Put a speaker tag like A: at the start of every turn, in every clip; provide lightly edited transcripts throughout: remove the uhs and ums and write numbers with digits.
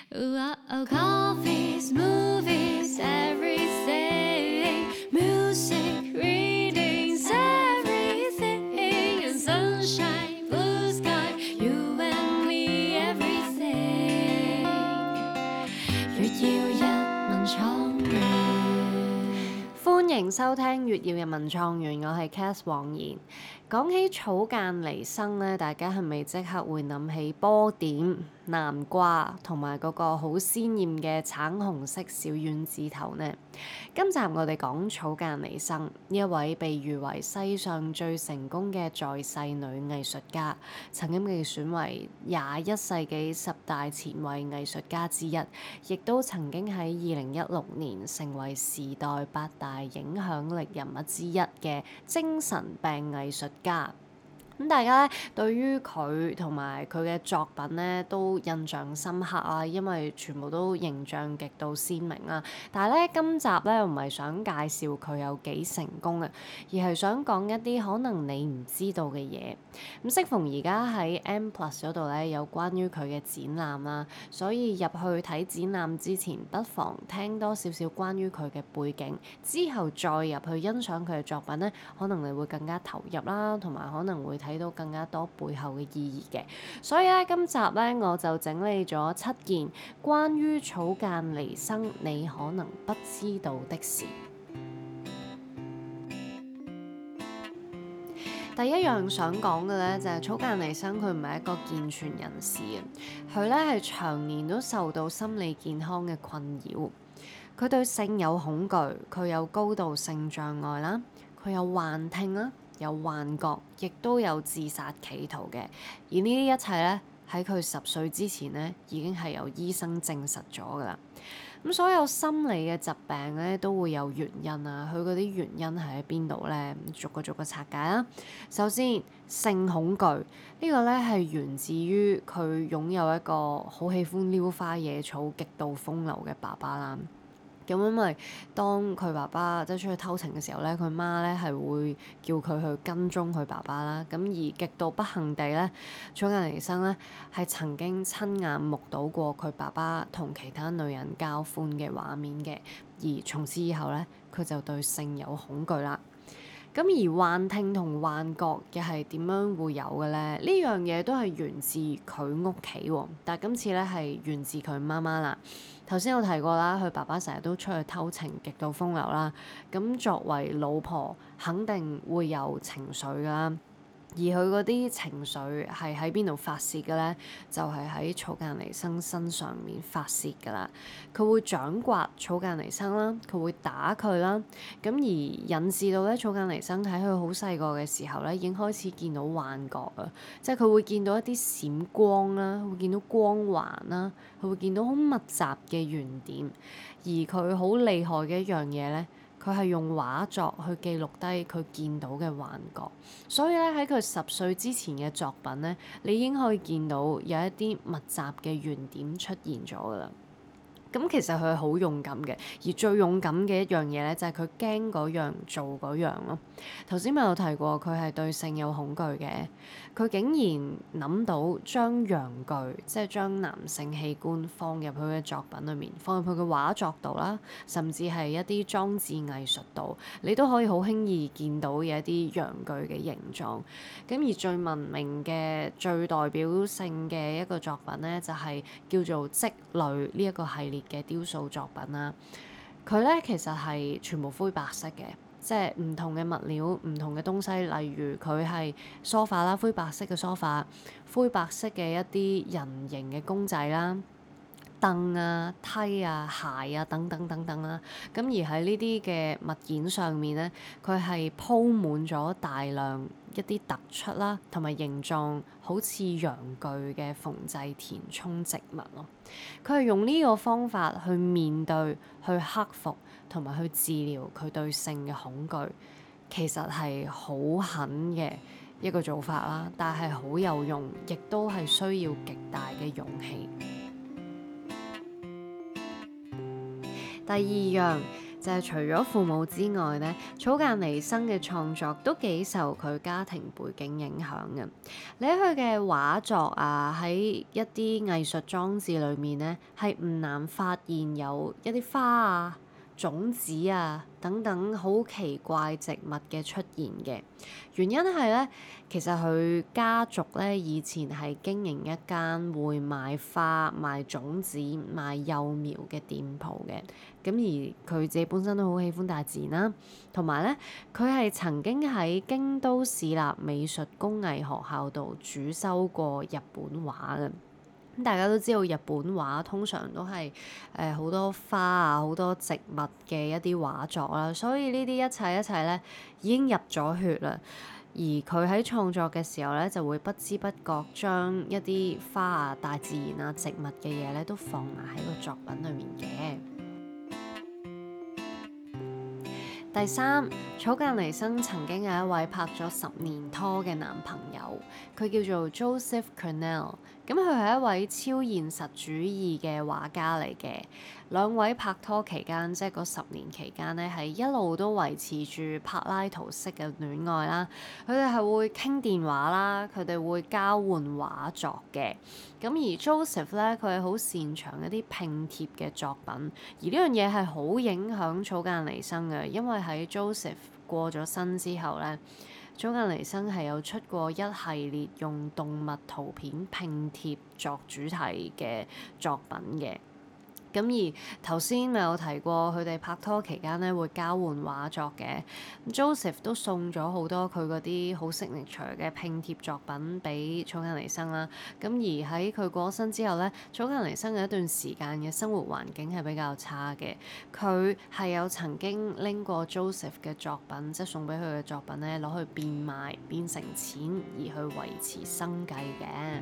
A: Coffees, movies, everything. Music, readings, everything. And sunshine, blue sky, you and me, everything. 月曜日文創園，歡迎收聽月曜日文創園，我係 Cath 黃妍。講起草間彌生咧，大家係咪即刻會諗起波點、南瓜同埋嗰個好鮮豔嘅橙紅色小丸子頭呢？今集我哋講草間彌生，呢一位被譽為世上最成功嘅在世女藝術家，曾經被選為21世紀10大前衛藝術家之一，亦都曾經喺2016年成為時代8大影響力人物之一嘅精神病藝術家。咁大家咧對於佢同埋佢嘅作品咧都印象深刻啊，因為全部都形象極度鮮明啦。但係咧今集咧唔係想介紹佢有幾成功嘅，而係想講一啲可能你唔知道嘅嘢。咁適逢而家喺 M+ 嗰度咧有關於佢嘅展覽啦，所以入去睇展覽之前，不妨聽多少少關於佢嘅背景，之後再入去欣賞佢嘅作品咧，可能你會更加投入啦，同埋可能會睇到更加多背後嘅意義嘅。所以咧今集咧我就整理咗7件關於草間彌生你可能不知道的事。第一樣想講嘅咧就係草間彌生佢唔係一個健全人士啊，佢咧係長年都受到心理健康嘅困擾。佢對性有恐懼，佢有高度性障礙啦，佢有幻聽啦，有幻覺，亦都有自殺企圖嘅。而呢啲一切咧喺佢10歲之前咧已經係由醫生證實咗㗎啦。咁所有心理嘅疾病咧都會有原因啊，佢嗰啲原因係喺邊度咧？逐個拆解啦。首先，性恐懼呢個咧係源自於佢擁有一個好喜歡撩花惹草、極度風流嘅爸爸啦。咁因為當佢爸爸即係出去偷情嘅時候咧，佢媽咧係會叫佢去跟蹤佢爸爸啦。咁而極度不幸地咧，草間彌生咧係曾經親眼目睹過佢爸爸同其他女人交歡嘅畫面嘅，而從此以後咧，佢就對性有恐懼啦。咁而幻聽同幻覺又係點樣會有嘅咧？呢樣嘢都係源自佢屋企喎，但係今次咧係源自佢媽媽啦。頭先有提過啦，佢爸爸成日都出去偷情，極度風流啦。咁作為老婆，肯定會有情緒㗎啦。而佢嗰啲情緒係喺邊度發洩嘅咧？就係喺草間彌生身上面發洩㗎啦。佢會掌摑草間彌生啦，佢會打佢啦。咁而引致到咧，草間彌生喺佢好細個嘅時候咧，已經開始見到幻覺啊，即係佢會見到一啲閃光啦，會見到光環啦，佢會見到好密集嘅圓點。而佢好厲害嘅一樣嘢咧，佢係用畫作去記錄低佢見到嘅幻覺，所以咧喺佢10歲之前嘅作品咧，你已經可以見到有一啲密集嘅圓點出現咗㗎啦。咁其實佢係好勇敢嘅，而最勇敢嘅一樣嘢咧，就係佢驚嗰樣做嗰樣咯。頭先咪有提過佢係對性有恐懼嘅，佢竟然諗到將陽具，即係將男性器官放入佢嘅作品裏面，放入佢嘅畫作度啦，甚至係一啲裝置藝術度，你都可以好輕易見到嘅一啲陽具嘅形狀。咁而最聞名嘅、最代表性嘅一個作品咧，就係叫做積累呢一個系列嘅雕塑作品啦。佢咧其實係全部灰白色嘅，即係唔同嘅物料、唔同嘅東西，例如佢係梳化啦，灰白色嘅梳化，灰白色嘅一啲人形嘅公仔啦。凳啊、梯啊、鞋啊等等等等啦，咁而喺呢啲嘅物件上面咧，佢係鋪滿咗大量一啲突出啦，同埋形狀好似陽具嘅縫製填充植物咯。佢係用呢個方法去面對、去克服同埋去治療佢對性嘅恐懼，其實係好狠嘅一個做法啦，但係好有用，亦都係需要極大嘅勇氣。第二樣就係除咗父母之外咧，草間彌生嘅創作都幾受佢家庭背景影響嘅。你喺佢嘅畫作啊，喺一啲藝術裝置裏面咧，係唔難發現有一啲花啊、種子啊等等好奇怪植物嘅出現嘅。原因係咧，其實佢家族咧以前係經營一間會賣花、賣種子、賣幼苗嘅店鋪嘅。咁而佢自己本身都好喜歡大自然啦，同埋咧，佢係曾經喺京都市立美術工藝學校度主修過日本畫嘅。咁大家都知道日本畫通常都係好多花啊、好多植物嘅一啲畫作啦，所以呢啲一切咧已經入咗血啦。而佢喺創作嘅時候咧，就會不知不覺將一啲花啊、大自然啊、植物嘅嘢咧，都放埋喺個作品裏面嘅。第三，草間彌生曾經有一位拍咗10年拖嘅男朋友，佢叫做 Joseph Cornell。咁佢係一位超現實主義嘅畫家嚟嘅。兩位拍拖期間，即係嗰10年期間咧，係一路都維持住柏拉圖式嘅戀愛啦。佢哋係會傾電話啦，佢哋會交換畫作嘅。咁而 Joseph 咧，佢係好擅長一啲拼貼嘅作品，而呢樣嘢係好影響草間彌生嘅，因為喺 Joseph 過咗身之後咧，草間彌生係有出過一系列用動物圖片拼貼作主題嘅作品嘅。咁而頭先咪有提過，佢哋拍拖期間咧會交換畫作嘅。Joseph 都送咗好多佢嗰啲好signature嘅拼貼作品俾草間彌生啦。咁而喺佢過身之後咧，草間彌生有一段時間嘅生活環境係比較差嘅。佢係有曾經拎過 Joseph 嘅作品，即係送俾佢嘅作品咧，攞去變賣變成錢而去維持生計嘅。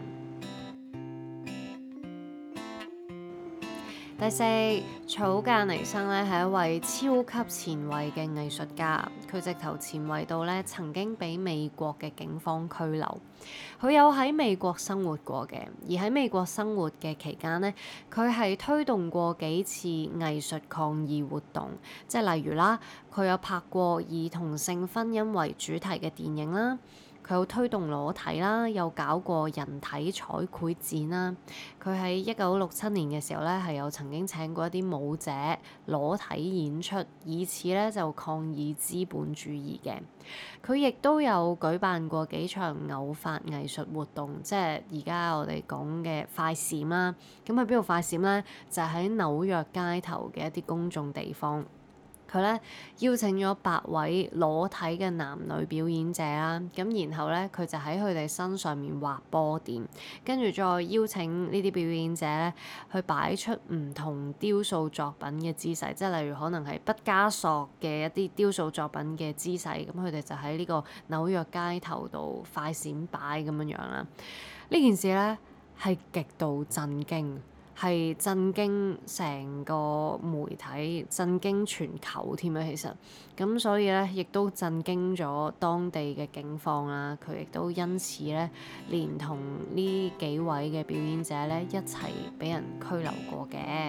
A: 第四，草間彌生咧係一位超級前衛嘅藝術家，佢直頭前衛到咧曾經俾美國嘅警方拘留。佢有喺美國生活過嘅，而喺美國生活嘅期間咧，佢係推動過幾次藝術抗議活動，即係例如啦，佢有拍過以同性婚姻為主題嘅電影啦。佢有推動裸體啦，有搞過人體彩繪展啦。佢喺1967年嘅時候咧，係有曾經請過一啲舞者裸體演出，以此咧就抗議資本主義嘅。佢亦都有舉辦過幾場偶發藝術活動，即係而家我哋講嘅快閃啦。咁喺邊度快閃咧？就係喺紐約街頭嘅一啲公眾地方。佢咧邀請咗8位裸體嘅男女表演者啦，咁然後咧佢就喺佢哋身上面畫波點，跟住再邀請呢啲表演者咧去擺出唔同雕塑作品嘅姿勢，即係例如可能係畢加索嘅一啲雕塑作品嘅姿勢，咁佢哋就喺呢個紐約街頭度快閃擺咁樣樣啦。呢件事咧係極度震驚。係震驚成個媒體，震驚全球添啊！其實咁，所以咧，亦都震驚咗當地嘅警方啦。佢亦都因此咧，連同呢幾位嘅表演者咧，一齊俾人拘留過嘅。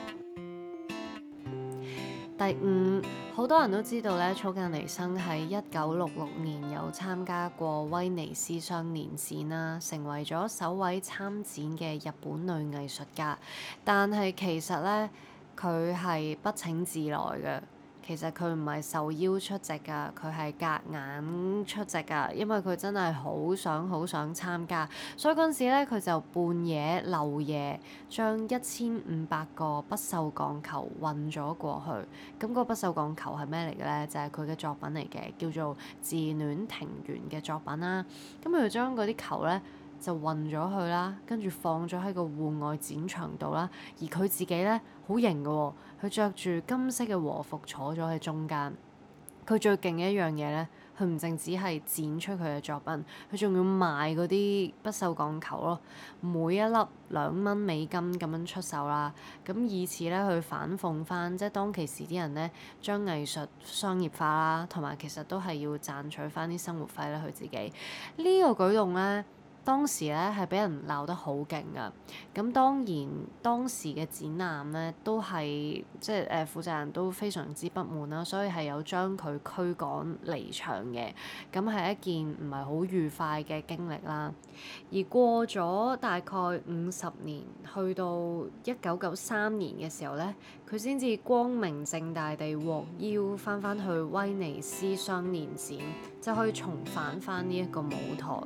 A: 第5，好多人都知道咧，草間彌生喺1966年有參加過威尼斯雙年展啦，成為咗首位參展嘅日本女藝術家。但係其實咧，佢係不請自來嘅。其實佢唔係受邀出席㗎，佢係夾硬出席㗎，因為佢真係好想參加，所以嗰陣時咧，佢就半夜漏夜將1500個不鏽鋼球運咗過去。咁個不鏽鋼球係咩嚟嘅咧？就係佢嘅作品嚟嘅，叫做《自戀庭園》嘅作品啦。咁佢就將嗰啲球咧就運咗去啦，跟住放咗喺個戶外展場度啦。而佢自己咧好型嘅喎，佢着住金色嘅和服坐咗喺中間。佢最勁嘅一樣嘢咧，佢唔淨止係展出佢嘅作品，佢仲要賣嗰啲不鏽鋼球咯，每一粒$2咁樣出售啦。咁以此咧去反諷翻，即係當其時啲人咧將藝術商業化啦，同埋其實都係要賺取翻啲生活費咧。佢自己呢個舉動咧， 當時咧係俾人鬧得好勁噶。咁當然當時嘅展覽咧都係即係負責人都非常之不滿啦，所以係有將佢驅趕離場嘅。咁係一件唔係好愉快嘅經歷啦。而過咗大概50年，去到1993年嘅時候咧，佢先至光明正大地獲邀翻去威尼斯雙年展，就可以重返翻呢一個舞台。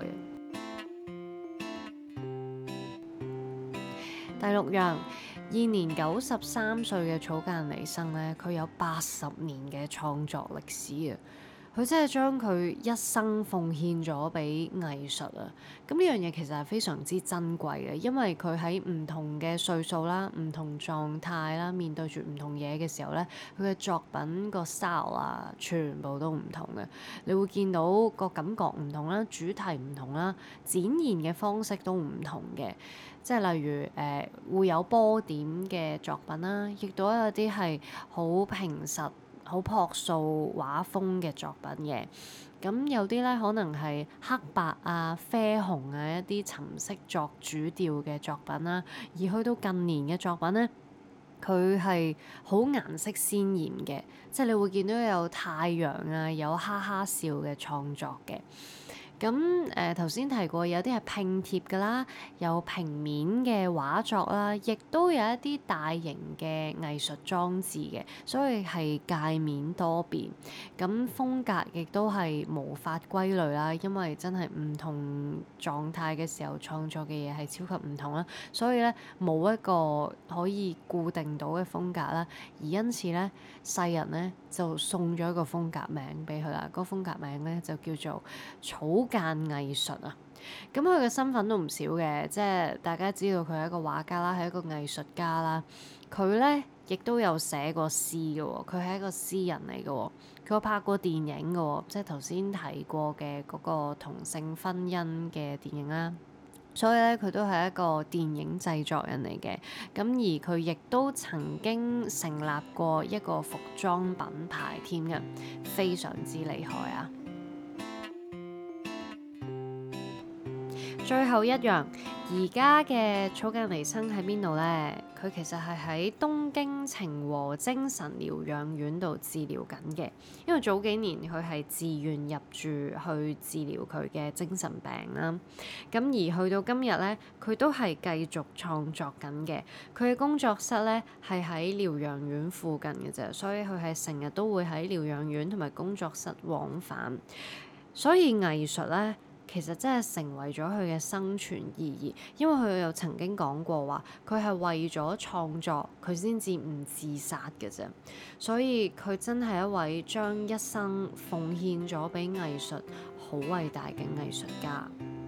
A: 第六樣，現年93歲嘅草間彌生咧，佢有80年嘅創作歷史啊！佢真係將佢一生奉獻咗俾藝術啊！咁呢樣嘢其實係非常之珍貴嘅，因為佢喺唔同嘅歲數啦、唔同狀態啦，面對住唔同嘢嘅時候咧，佢嘅作品個 style 啊，全部都唔同嘅。你會見到個感覺唔同啦，主題唔同啦，展現嘅方式都唔同嘅。即係例如會有波點嘅作品啦，亦都有啲係好平實、好樸素畫風嘅作品嘅。咁有啲咧可能係黑白啊、啡紅啊一啲沉色作主調嘅作品啦。而去到近年嘅作品咧，佢係好顏色鮮豔嘅，即係你會見到有太陽啊、有哈哈笑嘅創作嘅。咁頭先提過有啲係拼貼㗎啦，有平面嘅畫作啦，亦都有一啲大型嘅藝術裝置嘅，所以係界面多變。咁風格亦都係無法歸類啦，因為真係唔同狀態嘅時候創作嘅嘢係超級唔同啦，所以咧冇一個可以固定到嘅風格啦。而因此咧，世人咧就送咗一個風格名俾佢啦，嗰個風格名咧就叫做草間藝術啊。咁佢嘅身份都唔少嘅，即係大家知道佢係一個畫家啦，係一個藝術家啦。佢咧亦都有寫過詩嘅喎，佢係一個詩人嚟嘅喎。佢有拍過電影嘅喎，即係頭先提過嘅嗰個同性婚姻嘅電影啦。所以咧，佢都係一個電影製作人嚟嘅。咁而佢亦都曾經成立過一個服裝品牌添嘅，非常之厲害啊！最後一樣，而家嘅草間彌生喺邊度呢？佢其實係喺東京晴和精神療養院度治療緊嘅，因為早幾年佢係自願入住去治療佢嘅精神病啦。咁而去到今日咧，佢都係繼續創作緊嘅。佢嘅工作室咧係喺療養院附近嘅啫，所以佢係成日都會喺療養院同埋工作室往返。所以藝術咧，其實真係成為咗佢嘅生存意義，因為佢又曾經講過話，佢係為咗創作佢先至唔自殺嘅啫，所以佢真係一位將一生奉獻咗俾藝術好偉大嘅藝術家。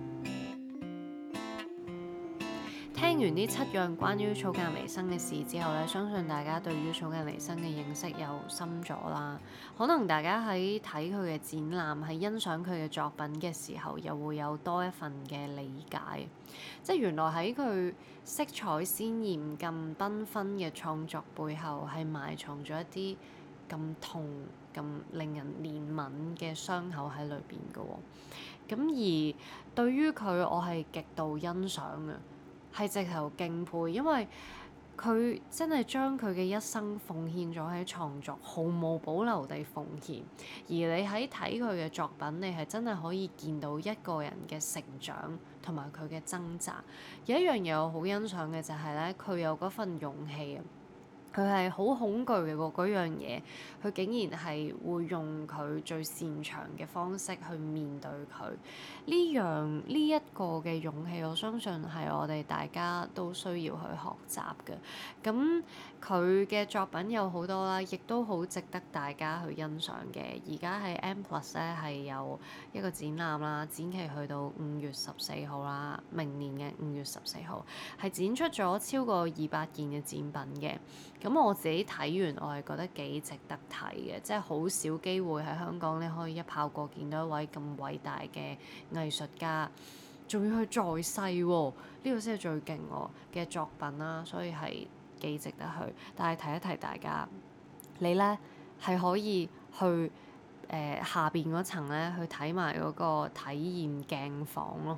A: 聽完呢7樣關於草間彌生嘅事之後咧，相信大家對於草間彌生嘅認識又深咗啦。可能大家喺睇佢嘅展覽，喺欣賞佢嘅作品嘅時候，又會有多一份嘅理解。即係原來喺佢色彩鮮豔、咁繽紛嘅創作背後，係埋藏咗一啲咁痛、咁令人憐憫嘅傷口喺裏邊嘅喎。咁而對於佢，我係極度欣賞嘅。係直頭敬佩，因為佢真係將佢嘅一生奉獻咗喺創作，毫無保留地奉獻。而你喺睇佢嘅作品，你係真係可以見到一個人嘅成長同埋佢嘅掙扎。有一樣嘢我好欣賞嘅就係咧，佢有嗰份勇氣啊！佢係好恐懼嘅嗰樣嘢，佢竟然係會用佢最擅長嘅方式去面對佢。呢一個嘅勇氣，我相信係我哋大家都需要去學習嘅。咁佢嘅作品有好多啦，亦都好值得大家去欣賞嘅。而家喺 M+ 咧係有一個展覽啦，展期去到5月14號啦，明年嘅5月14號係展出咗超過200件嘅展品嘅。咁我自己睇完，我係覺得幾值得睇嘅，即係好少機會喺香港咧可以一炮過見到一位咁偉大嘅藝術家，仲要去在世喎，呢個先係最勁嘅作品啦，所以係幾值得去。但係提一提大家，你咧係可以去下邊嗰層咧去睇埋嗰個體驗鏡房咯。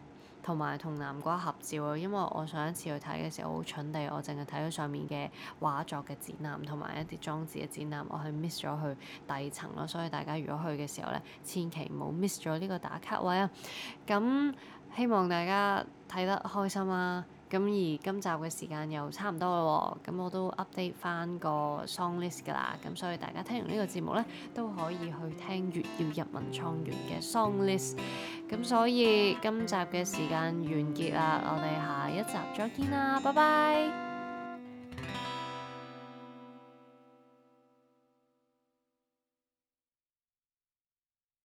A: 同埋同南瓜合照啊，因為我上一次去睇嘅時候好蠢地，我淨係睇咗上面嘅畫作嘅展覽同埋一啲裝置嘅展覽，我係 miss 咗去第二層咯，所以大家如果去嘅時候咧，千祈唔好 miss 咗呢個打卡位啊！咁希望大家睇得開心啦。咁而今集嘅時間又差唔多啦喎，咁我都 update 翻個 song list 㗎啦，咁所以大家聽完呢個節目咧，都可以去聽粵要入文創園嘅 song list。咁所以今集嘅時間完結啦，我哋下一集再見啦，拜拜。